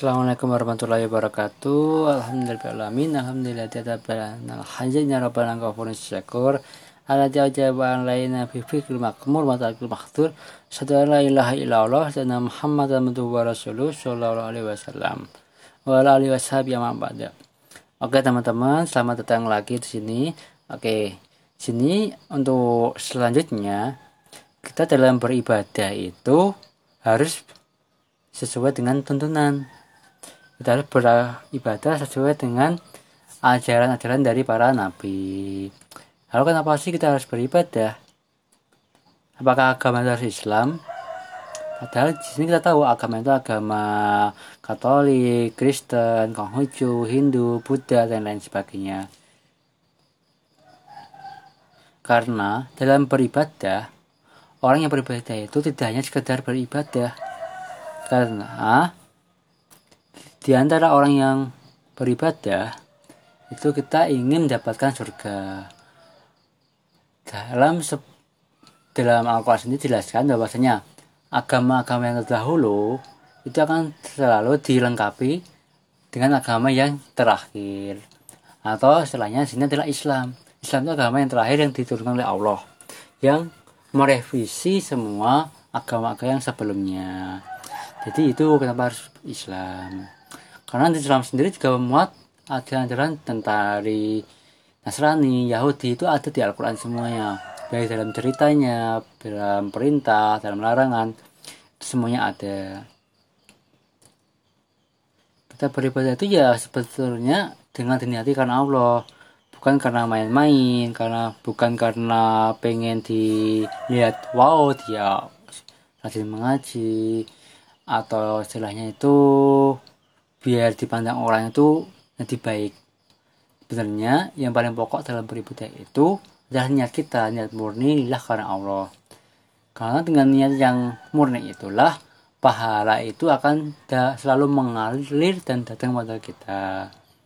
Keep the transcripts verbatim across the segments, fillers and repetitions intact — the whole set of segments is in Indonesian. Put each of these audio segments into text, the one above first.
Assalamualaikum warahmatullahi wabarakatuh. Alhamdulillahirobbilalamin. Alhamdulillah tadabbana hajjana rabbana ghafurun syakur. Ala jawaban laina fi fikri makmur wa ta'al makhtur. Asyhadu la ilaha illallah wa Muhammadan abduhu wa rasuluh sallallahu alaihi wasallam. Wa ala alihi washabihi wa ba'da. Oke teman-teman, selamat datang lagi di sini. Oke. Sini untuk selanjutnya kita dalam beribadah itu harus sesuai dengan tuntunan. Kita harus beribadah sesuai dengan ajaran-ajaran dari para nabi. Lalu kenapa sih kita harus beribadah? Apakah agama itu harus Islam? Padahal di sini kita tahu agama itu agama Katolik, Kristen, Konghucu, Hindu, Buddha, dan lain sebagainya. Karena dalam beribadah, orang yang beribadah itu tidak hanya sekedar beribadah. Karena di antara orang yang beribadah itu kita ingin mendapatkan surga. Dalam dalam Al-Quran sendiri dijelaskan bahwasanya agama-agama yang terdahulu itu akan selalu dilengkapi dengan agama yang terakhir, atau istilahnya sini adalah Islam. Islam itu agama yang terakhir yang diturunkan oleh Allah, yang merevisi semua agama-agama yang sebelumnya. Jadi itu kenapa harus Islam. Karena Islam sendiri juga memuat ajaran-ajaran tentang dari Nasrani, Yahudi itu ada di Al-Quran semuanya. Baik dalam ceritanya, dalam perintah, dalam larangan, itu semuanya ada. Kita beribadah itu ya sebetulnya dengan diniati karena Allah. Bukan karena main-main, karena bukan karena pengen dilihat, wow dia rajin mengaji, atau istilahnya itu biar dipandang orang itu nanti baik. Sebenarnya yang paling pokok dalam beribadah itu adalah niat kita, niat murni lillah karena Allah. Karena dengan niat yang murni itulah pahala itu akan da- selalu mengalir dan datang pada kita.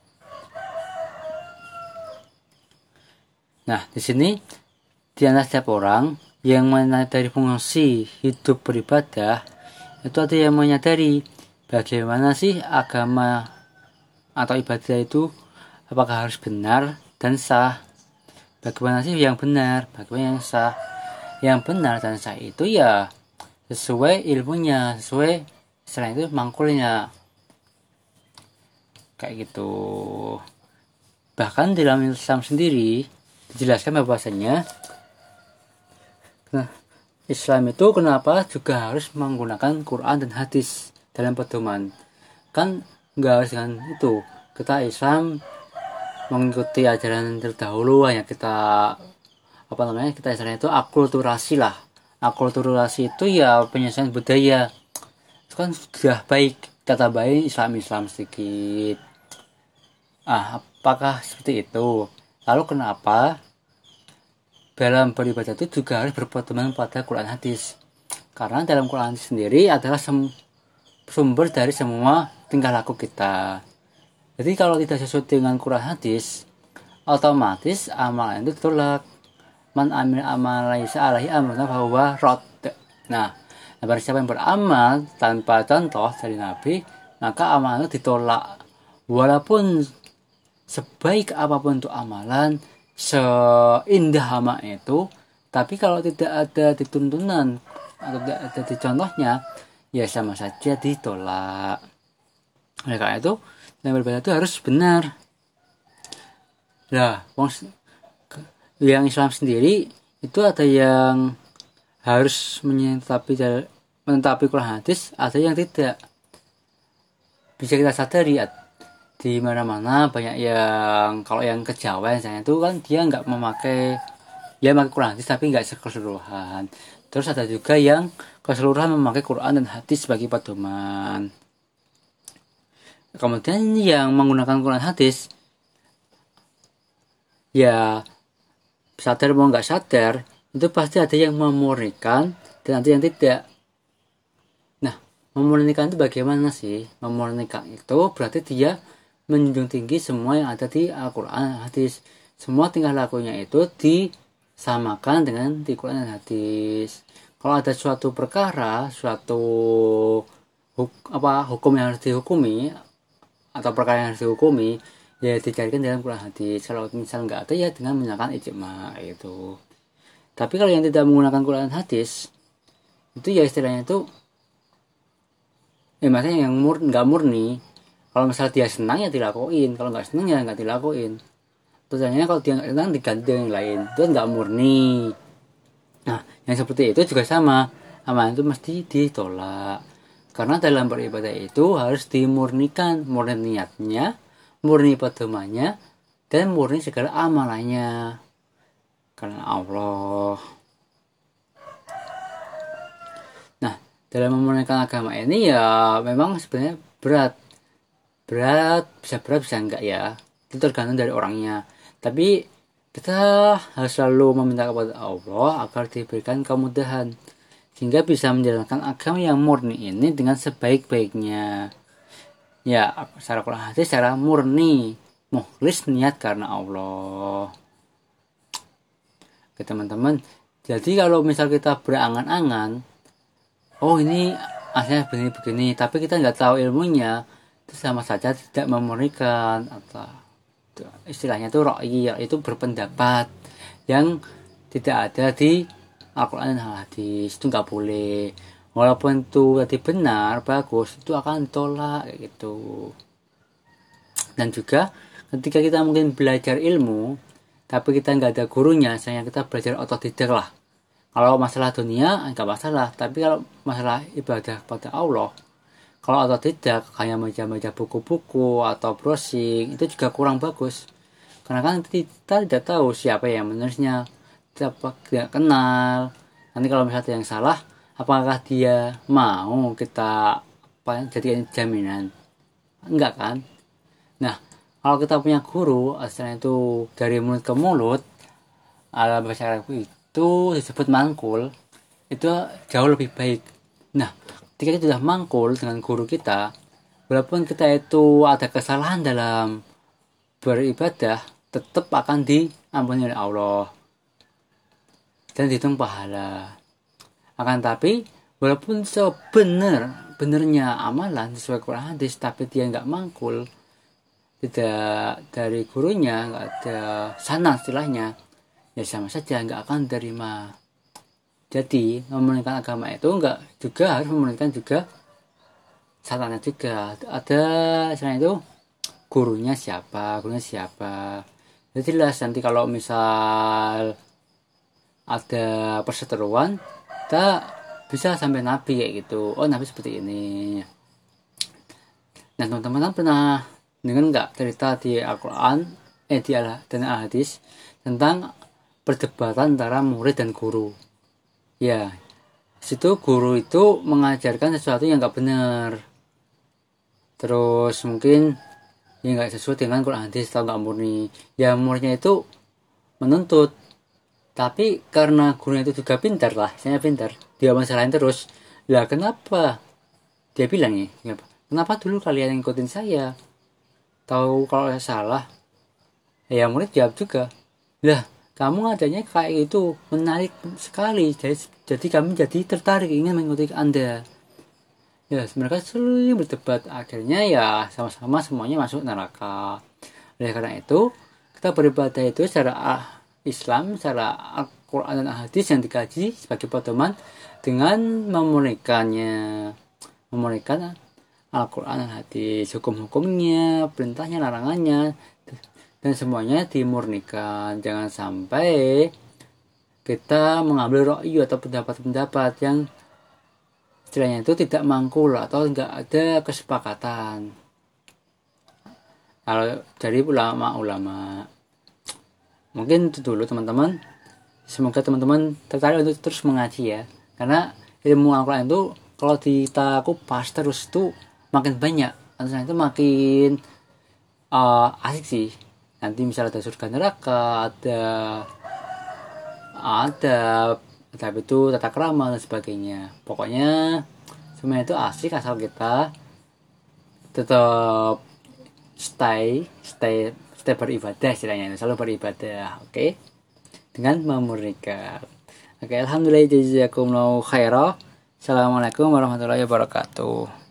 Nah, di sini di antara setiap orang yang menyadari fungsi hidup beribadah, itu ada yang menyadari bagaimana sih agama atau ibadah itu apakah harus benar dan sah. Bagaimana sih yang benar, bagaimana yang sah. Yang benar dan sah itu ya sesuai ilmunya, sesuai selain itu mangkulnya. Kayak gitu. Bahkan dalam Islam sendiri dijelaskan bahwasanya nah, Islam itu kenapa juga harus menggunakan Quran dan hadis dalam pedoman. Kan nggak harus dengan itu. Kita Islam mengikuti ajaran terdahulu, hanya kita apa namanya kita istilahnya itu akulturasi lah. Akulturasi itu ya penyelesaian budaya. Itu kan sudah baik. Kita tambahin Islam-Islam sedikit. Ah, apakah seperti itu? Lalu kenapa dalam beribadah itu juga harus berpedoman pada Quran hadis? Karena dalam Quran hadis sendiri adalah sem- sumber dari semua tingkah laku kita. Jadi kalau tidak sesuai dengan Quran hadis, otomatis amalan itu ditolak. Man amil amal laisa alaihi amruna fahuwa rad. Nah, barang siapa yang beramal tanpa contoh dari Nabi, maka amalan itu ditolak. Walaupun sebaik apapun untuk amalan, seindah amal itu, tapi kalau tidak ada dituntunan atau tidak ada di contohnya, ya sama saja ditolak. Oleh karena itu, yang beribadah itu harus benar. Nah, yang Islam sendiri itu ada yang harus menetapi menetapi Quran hadis, ada yang tidak. Bisa kita sadari di mana-mana banyak yang kalau yang kejawen misalnya itu kan dia nggak memakai ya memakai Quran hadis tapi nggak keseluruhan. Terus ada juga yang keseluruhan memakai Quran dan hadis sebagai pedoman. Kemudian yang menggunakan Quran hadis ya sadar mau nggak sadar itu pasti ada yang memurnikan dan ada yang tidak. Nah, memurnikan itu bagaimana sih? Memurnikan itu berarti dia menjunjung tinggi semua yang ada di Al-Quran dan hadis. Semua tingkah lakunya itu disamakan dengan di Quran dan hadis. Kalau ada suatu perkara, suatu huk, apa hukum yang harus dihukumi atau perkara yang harus dihukumi ya dicarikan dalam Quran hadis. Kalau misal nggak ada ya dengan menggunakan ijma itu. Tapi kalau yang tidak menggunakan Quran hadis itu ya istilahnya itu ya maksudnya yang mur nggak murni. Kalau misal dia senang ya dilakuin, kalau nggak senang ya nggak dilakuin. Terusnya kalau dia nggak senang diganti dengan yang lain, itu nggak murni. Nah yang seperti itu juga sama, amalan itu mesti ditolak. Karena dalam beribadah itu harus dimurnikan, murni niatnya, murni pedomannya, dan murni segala amalannya. Karena Allah. Nah, dalam memurnikan agama ini ya memang sebenarnya berat. Berat, bisa berat, bisa enggak ya. Itu tergantung dari orangnya. Tapi kita harus selalu meminta kepada Allah agar diberikan kemudahan. Sehingga bisa menjalankan agama yang murni ini dengan sebaik-baiknya. Ya, secara Quran hadis secara murni, mukhlis niat karena Allah. Oke teman-teman, jadi kalau misal kita berangan-angan, oh ini aslinya begini-begini, tapi kita nggak tahu ilmunya, itu sama saja tidak memurnikan atau istilahnya itu ra'yi, itu berpendapat yang tidak ada di Al-Quran dan hadis. Itu nggak boleh, walaupun itu tadi benar bagus, itu akan ditolak kayak gitu. Dan juga ketika kita mungkin belajar ilmu tapi kita nggak ada gurunya, misalnya kita belajar otodidak lah. Kalau masalah dunia nggak masalah, tapi kalau masalah ibadah kepada Allah, kalau otodidak kayak baca-baca buku-buku atau browsing, itu juga kurang bagus. Karena kan kita tidak tahu siapa yang menulisnya, tidak kenal. Nanti kalau misalnya yang salah, apakah dia mau kita apa jadikan jaminan? Enggak kan? Nah, kalau kita punya guru, asalnya itu dari mulut ke mulut, ala bahasa Arab itu disebut mangkul, itu jauh lebih baik. Nah, ketika kita sudah mangkul dengan guru kita, walaupun kita itu ada kesalahan dalam beribadah, tetap akan diampuni oleh Allah dan dihitung pahala. Akan tapi walaupun sebenar benernya amalan sesuai Quran hadis, tapi dia nggak mangkul, tidak dari gurunya, nggak ada sana istilahnya, ya sama saja nggak akan terima. Jadi memurnikan agama itu nggak juga harus memurnikan juga sanatnya juga. Ada istilahnya itu gurunya siapa, gurunya siapa. Jadi jelas nanti kalau misal ada perseteruan, kita bisa sampai nabi kayak gitu. Oh nabi seperti ini. Nah teman-teman pernah dengar nggak cerita di Al-Quran eh di Al dan Al-Hadis tentang perdebatan antara murid dan guru? Ya, situ guru itu mengajarkan sesuatu yang nggak benar. Terus mungkin ya nggak sesuai dengan Quran hadis atau nggak murni. Ya muridnya itu menuntut. Tapi karena gurunya itu juga pintar lah, saya pintar, dia masalahin terus. Lah kenapa? Dia bilang nih, kenapa? Kenapa dulu kalian ngikutin saya? Tahu kalau saya salah? Ya murid jawab juga. Lah, kamu adanya kayak itu menarik sekali. Jadi, jadi kami jadi tertarik ingin mengikuti Anda. Ya, mereka sering berdebat. Akhirnya ya sama-sama semuanya masuk neraka. Oleh karena itu, kita beribadah itu secara Islam, secara Al-Quran dan Hadis yang dikaji sebagai pedoman dengan memurnikannya, memurnikan Al-Quran dan Hadis, hukum-hukumnya, perintahnya, larangannya, dan semuanya dimurnikan. Jangan sampai kita mengambil ra'yu atau pendapat-pendapat yang istilahnya itu tidak mangkul atau tidak ada kesepakatan. Kalau dari ulama-ulama, mungkin itu dulu teman-teman. Semoga teman-teman tertarik untuk terus mengaji ya. Karena ilmu Al-Quran itu kalau kita kupas terus itu makin banyak. Artinya itu makin uh, asik sih. Nanti misalnya ada surga neraka, ada ada tapi itu tata krama dan sebagainya. Pokoknya semuanya itu asik asal kita tetap stay stay stay beribadah istilahnya, selalu beribadah, oke, okay? Dengan memurnikan. Oke, okay, alhamdulillah jazakumullahu khairah. Assalamualaikum warahmatullahi wabarakatuh.